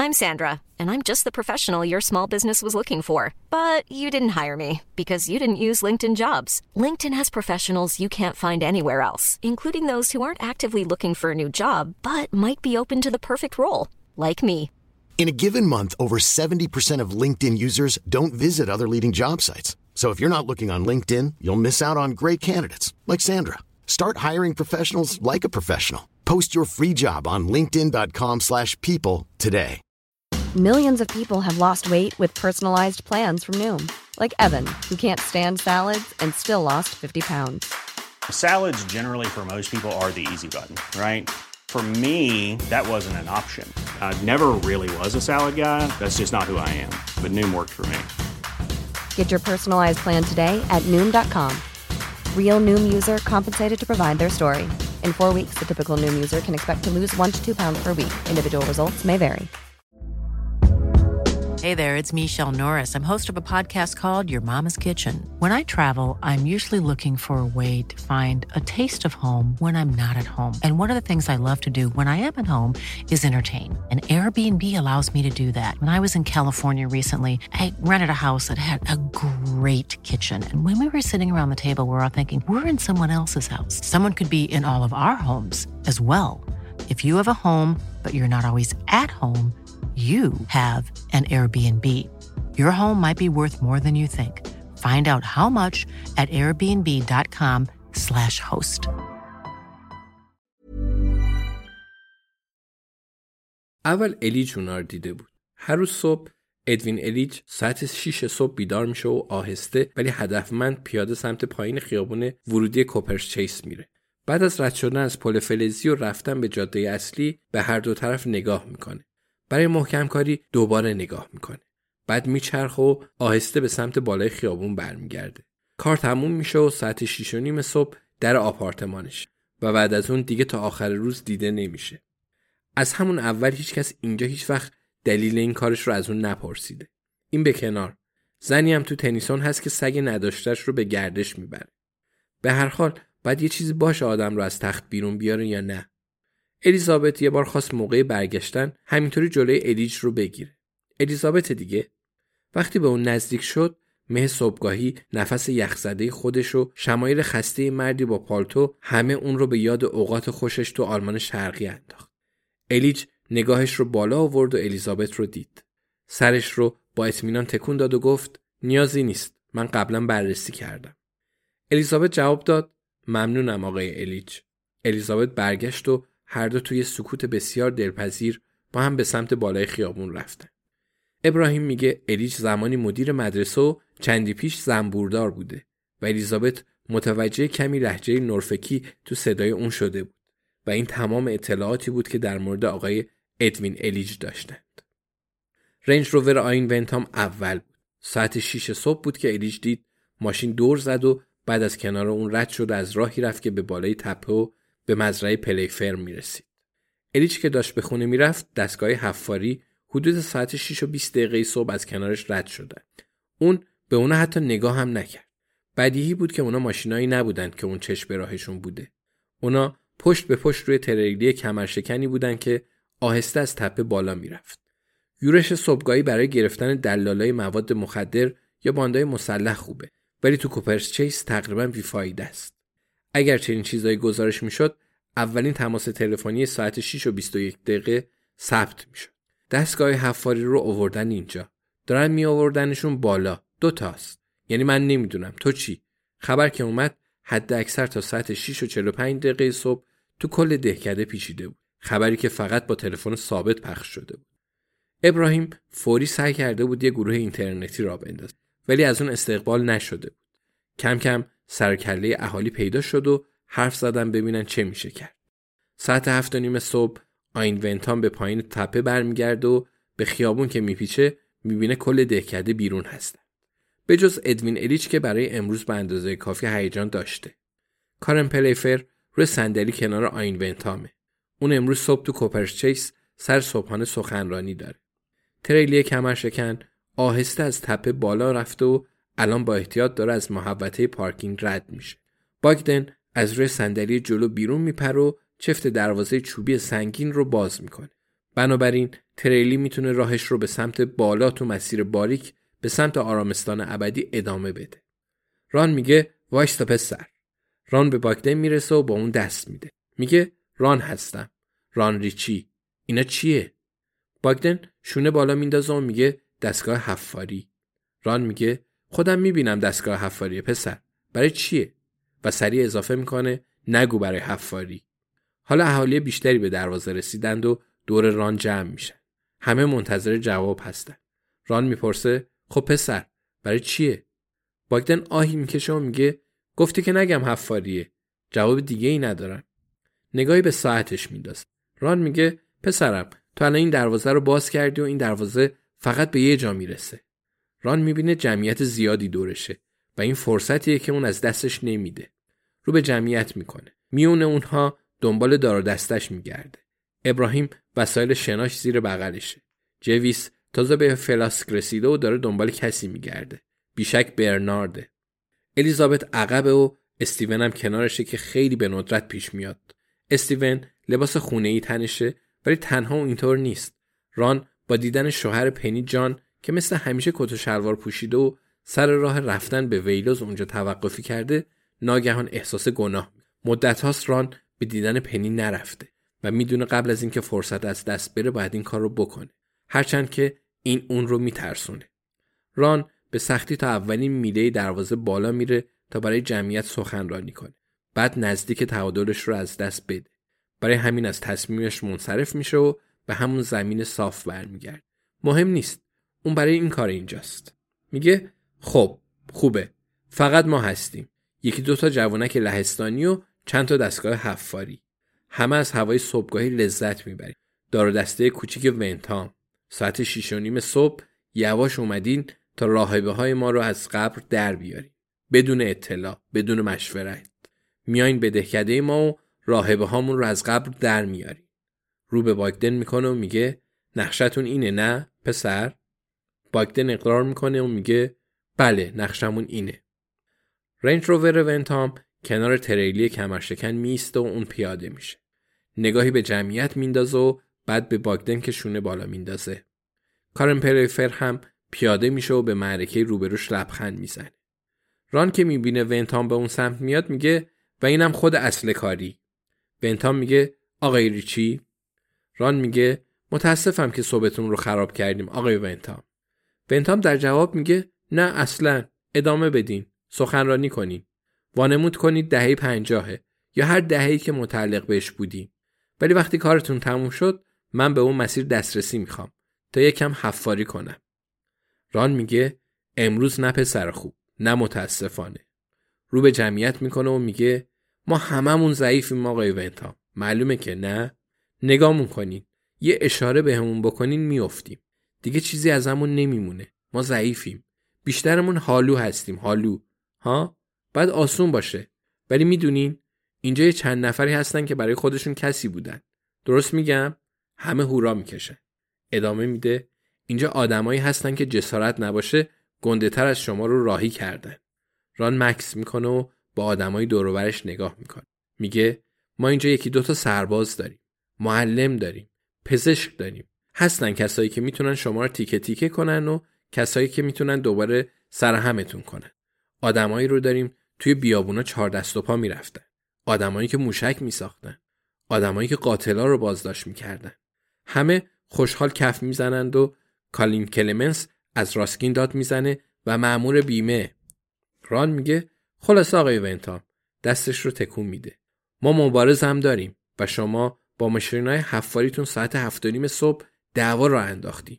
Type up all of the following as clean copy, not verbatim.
I'm Sandra, and I'm just the professional your small business was looking for. But you didn't hire me because you didn't use LinkedIn Jobs. LinkedIn has professionals you can't find anywhere else, including those who aren't actively looking for a new job, but might be open to the perfect role, like me. In a given month, over 70% of LinkedIn users don't visit other leading job sites. So if you're not looking on LinkedIn, you'll miss out on great candidates like Sandra. Start hiring professionals like a professional. Post your free job on linkedin.com/people today. Millions of people have lost weight with personalized plans from Noom. Like Evan, who can't stand salads and still lost 50 pounds. Salads generally for most people are the easy button, right? For me, that wasn't an option. I never really was a salad guy. That's just not who I am. But Noom worked for me. Get your personalized plan today at Noom.com. Real Noom user compensated to provide their story. In 4 weeks, the typical Noom user can expect to lose 1 to 2 pounds per week. Individual results may vary. Hey there, it's Michelle Norris. I'm host of a podcast called Your Mama's Kitchen. When I travel, I'm usually looking for a way to find a taste of home when I'm not at home. And one of the things I love to do when I am at home is entertain. And Airbnb allows me to do that. When I was in California recently, I rented a house that had a great kitchen. And when we were sitting around the table, we were all thinking, we're in someone else's house. Someone could be in all of our homes as well. If you have a home, but you're not always at home, you have an Airbnb. Your home might be worth more than you think. Find out how much at airbnb.com/host. اول الیج اونا رو دیده بود. هر روز صبح ادوین الیج ساعت 6 صبح بیدار میشه و آهسته ولی هدفمند پیاده سمت پایین خیابون ورودی کوپرس چیس میره. بعد از رد شدن از پل فلزی و رفتن به جاده اصلی به هر دو طرف نگاه میکنه. برای محکم کاری دوباره نگاه میکنه. بعد میچرخه و آهسته به سمت بالای خیابون برمیگرده. کار تموم میشه و ساعت 6:30 صبح در آپارتمانش و بعد از اون دیگه تا آخر روز دیده نمیشه. از همون اول هیچکس اینجا هیچ وقت دلیل این کارش رو از اون نپرسیده. این به کنار. زنی هم تو تنیسون هست که سگ نداشتهش رو به گردش میبره. به هر حال باید یه چیزی باشه آدم رو از تخت بیرون بیاره یا نه. الیزابت یه بار خواست موقع برگشتن همینطوری جلوی الیج رو بگیره. الیزابت دیگه وقتی به اون نزدیک شد مه صبحگاهی نفس یخزده خودش و شمایل خسته مردی با پالتو همه اون رو به یاد اوقات خوشش تو آلمان شرقی انداخت. الیج نگاهش رو بالا آورد و الیزابت رو دید. سرش رو با اطمینان تکون داد و گفت نیازی نیست. من قبلا بررسی کردم. الیزابت جواب داد ممنونم آقای الیج. الیزابت برگشت و هر دو توی سکوت بسیار دلپذیر با هم به سمت بالای خیابون رفتن. ابراهیم میگه الیج زمانی مدیر مدرسه و چندی پیش زنبوردار بوده و الیزابت متوجه کمی لهجه نورفکی تو صدای اون شده بود و این تمام اطلاعاتی بود که در مورد آقای ادوین الیج داشتند. رنج روور آین ونتام اول بود. ساعت 6 صبح بود که الیج دید ماشین دور زد و بعد از کنار اون رد شد از راهی رفت که به بالای تپه و به مزرعه پلیفرم میرسید. الیج که داشت به خونه میرفت دستگاه حفاری حدود ساعت 6:20 صبح از کنارش رد شدن. اون به اونا حتی نگاه هم نکرد. بدیهی بود که اونا ماشینایی نبودن که اون چشم به راهشون بوده. اونا پشت به پشت روی تریلی کمرشکنی بودن که آهسته از تپه بالا میرفت. یورش صبحگاهی برای گرفتن دلالای مواد مخدر یا باندای مسلح خوبه، ولی تو کوپرس چیس تقریبا بیفایده است. اگر چنین چیزایی گزارش میشد، اولین تماس تلفنی ساعت 6:21 ثبت میشد. دستگاه حفاری رو آوردن اینجا. دارن می آوردنشون بالا. 2 تاست. یعنی من نمیدونم تو چی؟ خبر که اومد حد اکثر تا ساعت 6:45 صبح تو کل دهکده پیچیده بود. خبری که فقط با تلفن ثابت پخش شده بود. ابراهیم فوری سعی کرده بود یه گروه اینترنتی را بندازه، ولی از اون استقبال نشده بود. کم کم سرکله اهالی پیدا شد و حرف زدن ببینن چه میشه کرد. ساعت 7:30 صبح آین ونتام به پایین تپه برمیگرده و به خیابون که میپیچه میبینه کل دهکده بیرون هستن. به جز ادوین الیچ که برای امروز به اندازه کافی هیجان داشته. کارن پلیفر روی صندلی کنار آین ونتامه. اون امروز صبح تو کوپرس چیس سر صبحانه سخنرانی داره. تریلی کمرشکن آهسته از تپه بالا رفته و الان با احتیاط داره از محوطه پارکینگ رد میشه. باگدن از روی صندلی جلو بیرون میپره و چفت دروازه چوبی سنگین رو باز میکنه. بنابراین تریلی میتونه راهش رو به سمت بالا تو مسیر باریک به سمت آرامستان ابدی ادامه بده. ران میگه وایستا پسر. ران به باگدن میرسه و با اون دست میده. میگه ران هستم. ران ریچی. اینا چیه؟ باگدن شونه بالا میندازه و میگه دستگاه حفاری. ران میگه خودم میبینم دستگاه حفاریه پسر. برای چیه؟ و سریع اضافه میکنه نگو برای حفاری. حالا اهالی بیشتری به دروازه رسیدند و دور ران جمع میشن. همه منتظر جواب هستن. ران میپرسه خب پسر برای چیه؟ باگدن آهی میکشه و میگه گفتی که نگم حفاریه. جواب دیگه ای ندارم. نگاهی به ساعتش میندازه. ران میگه پسرم تو الان این دروازه رو باز کردی و این دروازه فقط به یه جا میرسه. ران میبینه جمعیت زیادی دورشه و این فرصتیه که اون از دستش نمیده. رو به جمعیت میکنه. میونه اونها دنبال دار و دستش میگرده. ابراهیم وسایل شناش زیر بغلشه. جویس تازه به فلاسک رسیده و داره دنبال کسی میگرده. بیشک برنارده. الیزابت عقبه و استیون هم کنارشه که خیلی به ندرت پیش میاد. استیون لباس خونه‌ای تنشه ولی تنها و اینطور نیست. ران با دیدن شوهر پنی جان که مثل همیشه کت و شلوار پوشیده و سر راه رفتن به ویلوز اونجا توقفی کرده ناگهان احساس گناه. مدت هاست ران به دیدن پنی نرفته و میدونه قبل از اینکه فرصت از دست بره باید این کار رو بکنه. هرچند که این اون رو میترسونه. ران به سختی تا اولین میله دروازه بالا میره تا برای جمعیت سخنرانی کنه. بعد نزدیک تعادلش رو از دست بده. برای همین از تصمیمش منصرف میشه و به همون زمین صاف برمیگرده. مهم نیست. اون برای این کار اینجاست. میگه خب خوبه. فقط ما هستیم. یکی دوتا جوانک لهستانی و چند تا دستگاه حفاری. همه از هوای صبحگاهی لذت میبریم. دار و دسته کوچیک ونتام. ساعت 6:30 صبح یواش اومدین تا راهبه های ما رو از قبر در بیارین. بدون اطلاع، بدون مشورت. میاین به دهکده ما و راهبه هامون رو از قبر در میارین. رو به باگدن میکنه و میگه نقشتون اینه نه پسر؟ باگدن اقرار میکنه و میگه بله نقشمون اینه. رنج روور ونتام کنار تریلی کمرشکن میسته و اون پیاده میشه. نگاهی به جمعیت میندازه و بعد به باگدن که شونه بالا میندازه. کارن پلیفر هم پیاده میشه و به معرکه روبروش لبخند میزنه. ران که میبینه ونتام به اون سمت میاد میگه و اینم خود اصل کاری. ونتام میگه آقای ریچی؟ ران میگه متاسفم که صبحتون رو خراب کردیم آقای ونتام. ونتام در جواب میگه نه اصلا ادامه بدین. سخنرانی کنین. وانمود کنید دهه 50 یا هر دهه‌ای که متعلق بهش بودیم. ولی وقتی کارتون تموم شد من به اون مسیر دسترسی میخوام تا یکم حفاری کنم. ران میگه امروز نه پسر خوب، نه متاسفانه. رو به جمعیت میکنه و میگه ما هممون ضعیفیم آقای ونتام. معلومه که نه؟ نگامون کنین. یه اشاره بهمون بکنین میافتیم. دیگه چیزی ازمون نمیمونه. ما ضعیفیم. بیشترمون حالو هستیم. حالو. ها؟ باید آسون باشه. ولی میدونین اینجا یه چند نفری هستن که برای خودشون کسی بودن. درست میگم؟ همه هورا میکشن. ادامه میده اینجا آدمایی هستن که جسارت نباشه گنده تر از شما رو راهی کردن. ران مکس میکنه و با آدمای دور و برش نگاه میکنه. میگه ما اینجا یکی دوتا سرباز داریم. معلم داریم. پزشک داریم. هستن کسایی که میتونن شما رو تیکه تیکه کنن و کسایی که میتونن دوباره سرهمتون کنن. آدمایی رو داریم توی بیابونا 4 دست و پا میرفتن. آدمایی که موشک میساختن. آدمایی که قاتلا رو بازداشت میکردن. همه خوشحال کف میزنند و کالین کلمنس از راسکین داد میزنه و مأمور بیمه. ران میگه خلاص آقای ونتام. دستش رو تکون میده. ما مبارز هم داریم و شما با ماشینای حفاریتون ساعت 7:30 صبح دعوا را انداختیم.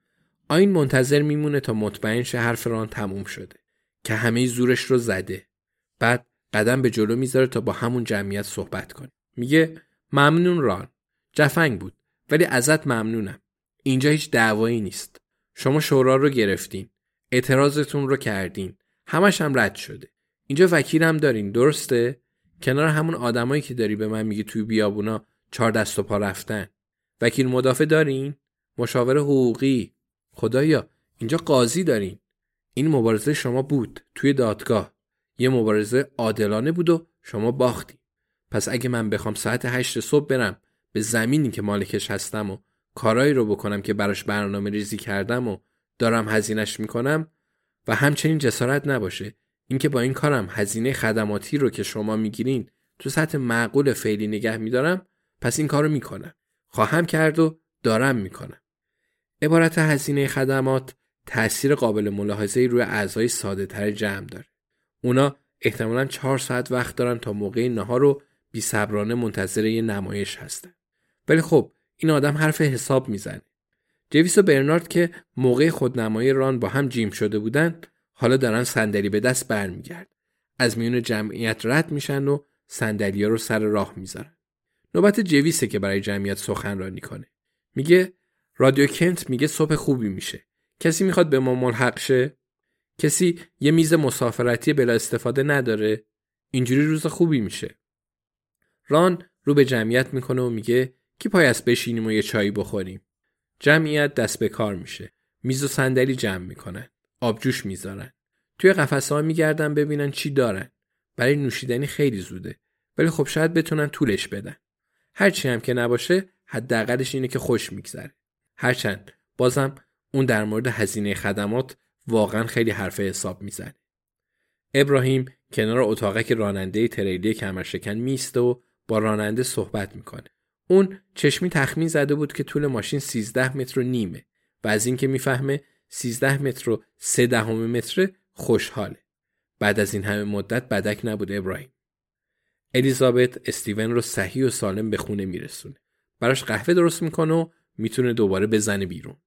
آین منتظر میمونه تا مطمئن شه حرف ران تموم شده که همه زورش رو زده. بعد قدم به جلو میذاره تا با همون جمعیت صحبت کنه. میگه ممنون ران. جفنگ بود ولی ازت ممنونم. اینجا هیچ دعوایی نیست. شما شورا رو گرفتین. اعتراضتون رو کردین. همش هم رد شده. اینجا وکیلم دارین درسته؟ کنار همون آدمایی که داری به من میگی توی بیابونا 4 دست و پا رفتن. وکیل مدافع دارین؟ مشاور حقوقی؟ خدایا اینجا قاضی دارین. این مبارزه شما بود توی دادگاه. یه مبارزه عادلانه بود و شما باختی. پس اگه من بخوام ساعت 8 صبح برم به زمینی که مالکش هستم و کارایی رو بکنم که براش برنامه ریزی کردم و دارم هزینه‌اش میکنم و همچنین جسارت نباشه اینکه با این کارم هزینه خدماتی رو که شما میگیرین تو سطح معقول فعلی نگه میدارم، پس این کارو میکنم. خواهم کرد و دارم میکنم. عبارت هزینه خدمات تأثیر قابل ملاحظه‌ای روی اعضای ساده‌تر جمع داره. اونا احتمالاً 4 ساعت وقت دارن تا موقع نهار رو بی‌صبرانه منتظر یه نمایش هستن. ولی خب این آدم حرف حساب میزنه. جویس و برنارد که موقع خودنمایی ران با هم جیم شده بودن، حالا دارن صندلی به دست برمیگرد. از میون جمعیت رد میشن و صندلی‌ها رو سر راه میذارن. نوبت جویسه که برای جمعیت سخنرانی کنه. میگه رادیو کنت میگه صبح خوبی میشه. کسی میخواد به ما ملحق شه؟ کسی یه میز مسافرتی بلا استفاده نداره؟ اینجوری روز خوبی میشه. ران رو به جمعیت میکنه و میگه کی پای است بشینیم و یه چایی بخوریم. جمعیت دست به کار میشه. میز و صندلی جمع میکنن. آبجوش میذارن. توی قفسه‌ها میگردن ببینن چی دارن. برای نوشیدنی خیلی زوده. ولی خب شاید بتونن طولش بدن. هرچی هم که نباشه حداقلش اینه که خوش میگذره. هرچند بازم اون در مورد هزینه خدمات واقعا خیلی حرف حساب میزنه. ابراهیم کنار اتاقک راننده تریلی کمرشکن میسته و با راننده صحبت میکنه. اون چشمی تخمین زده بود که طول ماشین 13 متر و نیمه و از این که میفهمه 13 متر و 3/10 متر خوشحاله. بعد از این همه مدت بدک نبود ابراهیم. الیزابت استیون رو صحیح و سالم به خونه میرسونه. براش قهوه درست میکنه و میتونه دوباره بزنه بیرون.